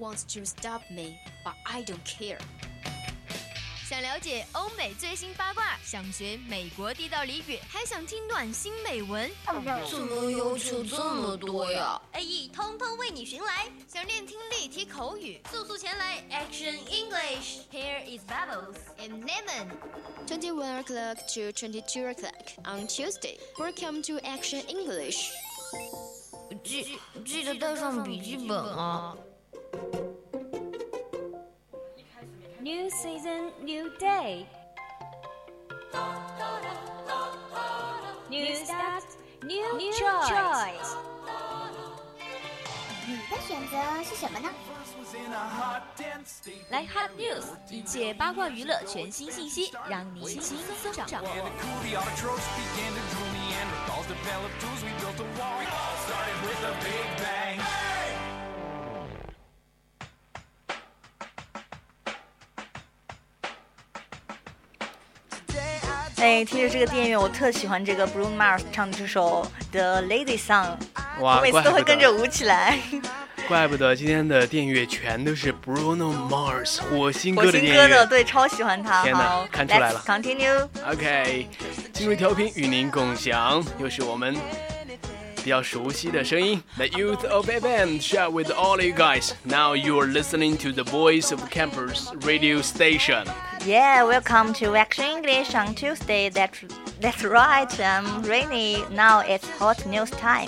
wants to stop me, but I don't care. 想了解欧美最新八卦，想学美国地道俚语，还想听暖心美文， 怎么要求这么多呀 ？AE 通通为你寻来。想练听力、提口语，速速前来 Action English. Here is Bubbles and Lemon. 21 o'clock to 22 o'clock on Tuesday. Welcome to Action English. 记得带上笔记本啊。 New season, new day. New start, new choice. 你的选择是什么呢？ 来 Hot News， 一切八卦娱乐全新信息，让你轻松掌握。 哎，听着这个电乐，我特喜欢这个 Bruno Mars 唱的这首 The Lazy Song， 我每次都会跟着舞起来。 怪不得今天的电乐全都是 Bruno Mars 火星哥的电乐。 火星哥的，对，超喜欢他。 天哪，看出来了。 Let's continue. OK， 今日调频与您共享，又是我们比较熟悉的声音 The Youth of FM share with all you guys. Now you are listening to the Voice of Campus radio station. Yeah, welcome to Action English on Tuesday. That's right, I'm Rainy. Now it's hot news time.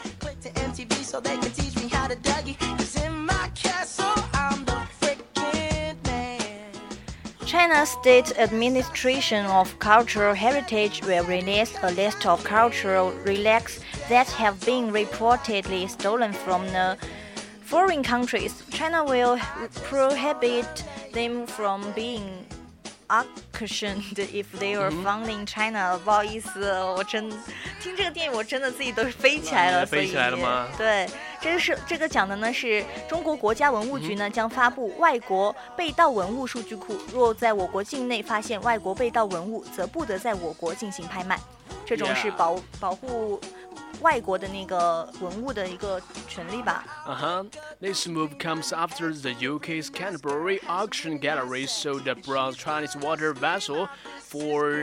China's State Administration of Cultural Heritage will release a list of cultural relics that have been reportedly stolen from the foreign countries. China will prohibit them from being auctioned if they were found in China. 不好意思，我真听这个电影，我真的自己都飞起来了。 飞起来了吗？ 对，这个讲的呢是中国国家文物局呢将发布外国被盗文物数据库，若在我国境内发现外国被盗文物，则不得在我国进行拍卖。这种是保护外国的那个文物的一个权利吧。 This move comes after the UK's Canterbury auction gallery sold a bronze Chinese water vessel for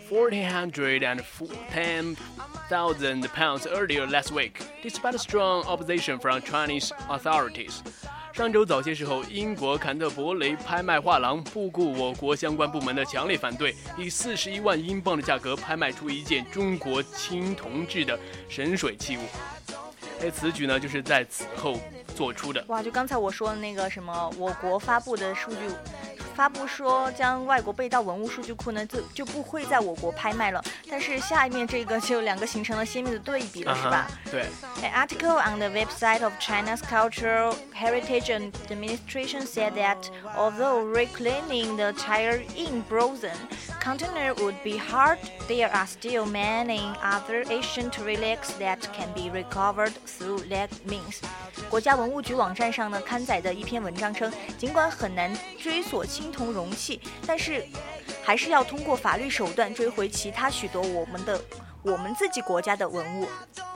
£410,000 earlier last week, despite strong opposition from Chinese authorities. 上周早些时候，英国坎特伯雷拍卖画廊不顾我国相关部门的强烈反对，以41万英镑的价格拍卖出一件中国青铜制的神水器物。此举呢，就是在此后做出的。 哇，就刚才我说的那个什么，我国发布的数据。发布说将外国被盗文物数据库呢就不会在我国拍卖了，但是下面这个就两个形成了鲜明的对比了，是吧？ 对。 An article on the website of China's Cultural Heritage Administration said that although reclaiming the tire in frozen container would be hard, there are still many other ancient relics that can be recovered through that means. 国家文物局网站上呢刊载的一篇文章称，尽管很难追索青铜容器，但是还是要通过法律手段追回其他许多我们自己国家的文物。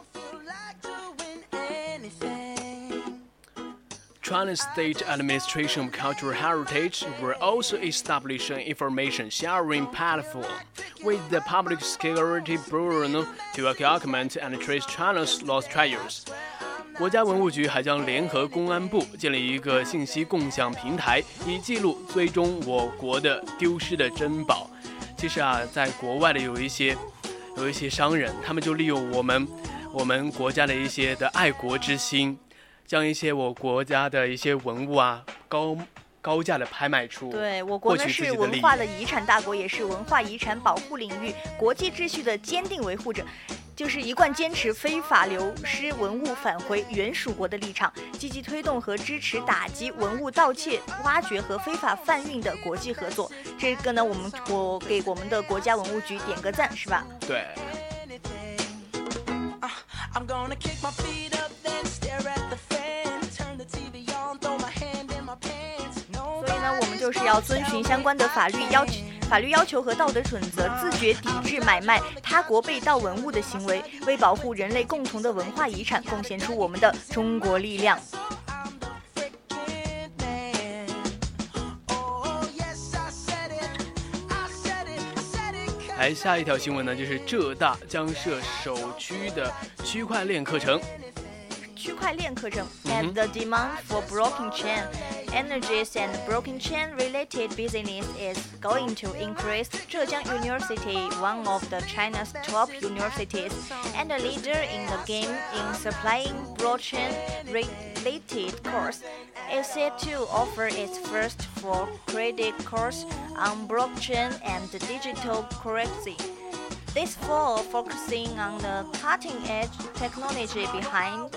China's State Administration of Cultural Heritage will also establish an information sharing platform with the Public Security Bureau to document and trace China's lost treasures. 国家文物局还将联合公安部建立一个信息共享平台，以记录追踪我国的丢失的珍宝。其实啊，在国外的有一些商人，他们就利用我们国家的一些的爱国之心，将一些我国家的一些文物啊高价的拍卖出。 对，我国呢是文化的遗产大国，也是文化遗产保护领域国际秩序的坚定维护者。就是一贯坚持非法流失文物返回原属国的立场，积极推动和支持打击文物盗窃、挖掘和非法贩运的国际合作。这个呢，我给我们的国家文物局点个赞，是吧？ 对。 所以呢，我们就是要遵循相关的法律要求和道德准则，自觉抵制买卖他国被盗文物的行为，为保护人类共同的文化遗产贡献出我们的中国力量。 下一条新闻呢，就是浙大将设首区的区块链课程。 区块链课程 as the demand for blockchain energies and blockchain related business is going to increase. Zhejiang University, one of the China's top universities and a leader in the game in supplying blockchain related course, is set to offer its first full credit course on blockchain and digital currency. This fall, focusing on the cutting-edge technology behind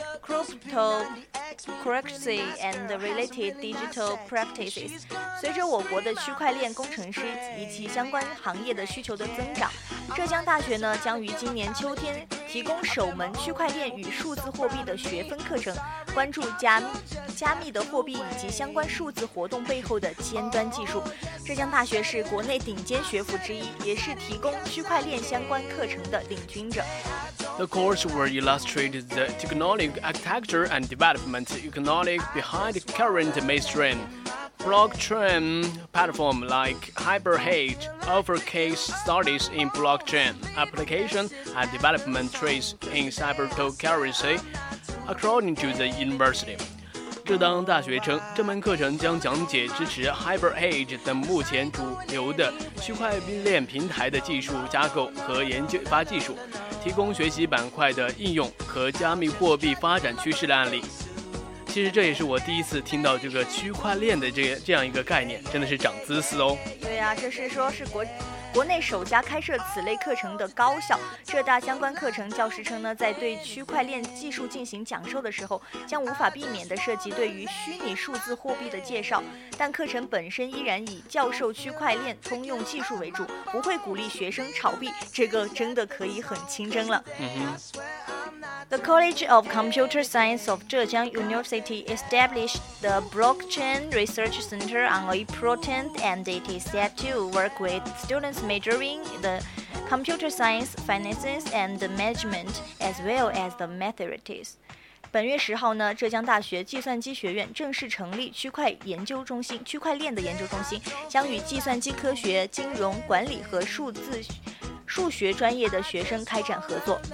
cryptocurrency and related digital practices. 随着我国的区块链工程师以及相关行业的需求的增长，浙江大学呢将于今年秋天提供首门区块链与数字货币的学分课程，关注加密的货币以及相关数字活动背后的尖端技术。浙江大学是国内顶尖学府之一，也是提供区块链相关课程的领军者。 The course will illustrate the technological architecture and development economic behind current mainstream blockchain platform like HyperHedge offer case studies in blockchain application and development traits in cryptocurrency, according to the university. 浙当大学称，这门课程将讲解支持 HyperHedge 等目前主流的区块链平台的技术架构和研发技术，提供学习板块的应用和加密货币发展趋势的案例。其实这也是我第一次听到这个区块链的这样一个概念，真的是长姿势哦。 对啊，这是说是国内首家开设此类课程的高校。浙大相关课程教师称呢，在对区块链技术进行讲授的时候，将无法避免地涉及对于虚拟数字货币的介绍，但课程本身依然以教授区块链通用技术为主，不会鼓励学生炒币，这个真的可以很清真了。The College of Computer Science of Zhejiang University established the Blockchain Research Center on April 10th, and it is set to work with students majoring in the computer science, finances, and management, as well as the mathematics. 本月10号呢，浙江大学计算机学院正式成立区块链的研究中心，将与计算机科学、金融、管理和数学专业的学生开展合作。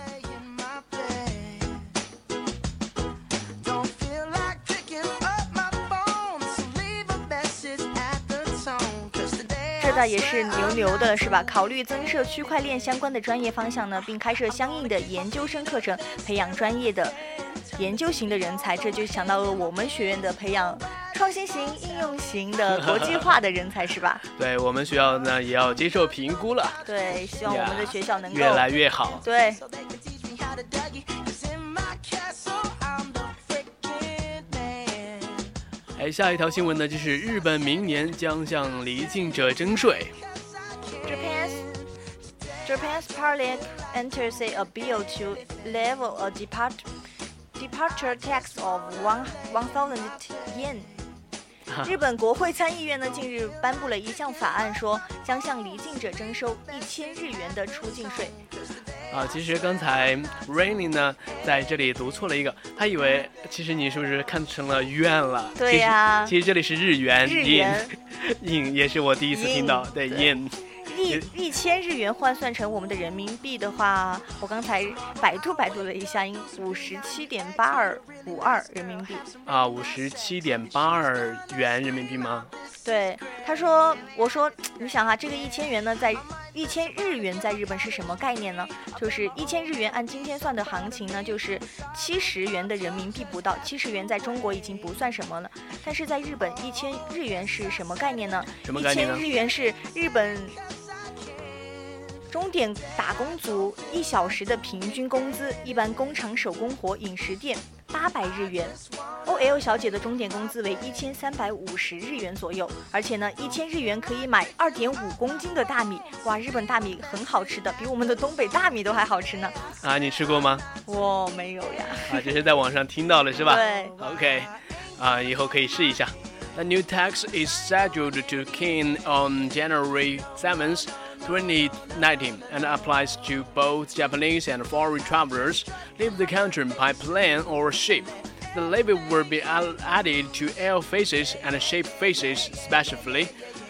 浙大也是牛的是吧？考虑增设区块链相关的专业方向呢，并开设相应的研究生课程，培养专业的研究型的人才。这就想到了我们学院的培养创新型、应用型的国际化的人才是吧？ 对，我们学校呢也要接受评估了。 对，希望我们的学校能够越来越好。 对。 下一条新闻呢，就是日本明年将向离境者征税。 Japan's parliament enters a bill to level a departure tax of 1,000 yen. 日本国会参议院呢近日颁布了一项法案，说将向离境者征收1000日元的出境税。 其实刚才 Rainy 呢在这里读错了一个，他以为其实你是不是看成了元了？ 对呀， 其实这里是日元 yin 也是我第一次听到，对 yin。 1000日元换算成我们的人民币的话，我刚才百度了一下，应57.8252人民币。 57.82元人民币吗？ 对，我说，你想哈，这个1000元呢，在1000日元在日本是什么概念呢？就是1000日元按今天算的行情呢，就是70元的人民币不到，70元在中国已经不算什么了。但是在日本，1000日元是什么概念呢？ 什么概念呢？ 1000日元是日本钟点打工族1小时的平均工资，一般工厂手工活、饮食店800日元。OL 小姐的钟点工资为1350日元左右，而且呢，1000日元可以买2.5公斤的大米。哇，日本大米很好吃的，比我们的东北大米都还好吃呢。 你吃过吗？ 我没有呀。 这是在网上听到了是吧？ 对。 OK， 以后可以试一下。The new tax is scheduled to begin on January 7th, 2019, and applies to both Japanese and foreign travelers leave the country by plane or ship. The levy will be added to air faces and ship faces, respectively.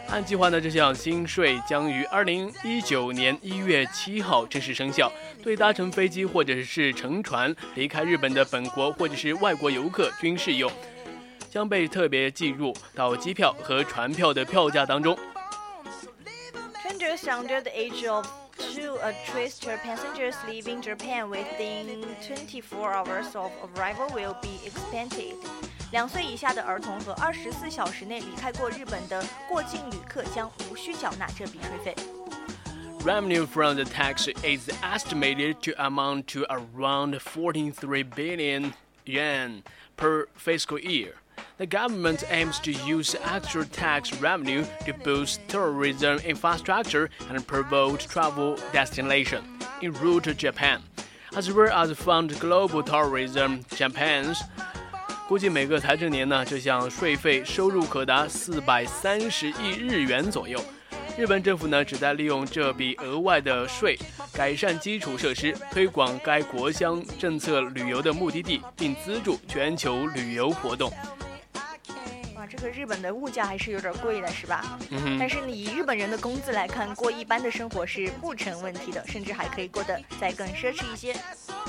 按计划呢，这项新税将于2019年1月7号正式生效，对搭乘飞机或者是乘船离开日本的本国或者是外国游客均适用，将被特别计入到机票和船票的票价当中。 Strangers under the age of 2 twister passengers leaving Japan within 24 hours of arrival will be expensed. 2岁以下的儿童和24小时内离开过日本的过境旅客将无需缴纳这笔税费。 Revenue from the tax is estimated to amount to around 43 billion yen per fiscal year. The government aims to use extra tax revenue to boost tourism infrastructure and promote travel destination en route to Japan, as well as fund global tourism. Japan's 估计每个财政年呢，这项税费收入可达430亿日元左右。日本政府呢，旨在利用这笔额外的税，改善基础设施，推广该国乡政策旅游的目的地，并资助全球旅游活动。 哇，这个日本的物价还是有点贵的，是吧？但是以日本人的工资来看，过一般的生活是不成问题的，甚至还可以过得再更奢侈一些。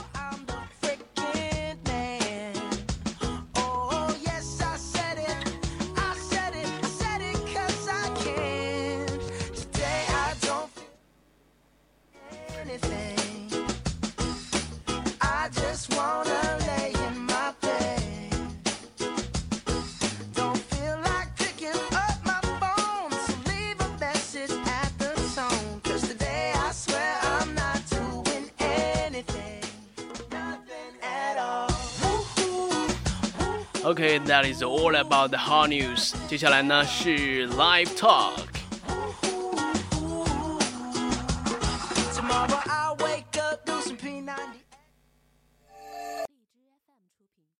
Okay, that is all about the hot news. 接下来呢是 Live Talk。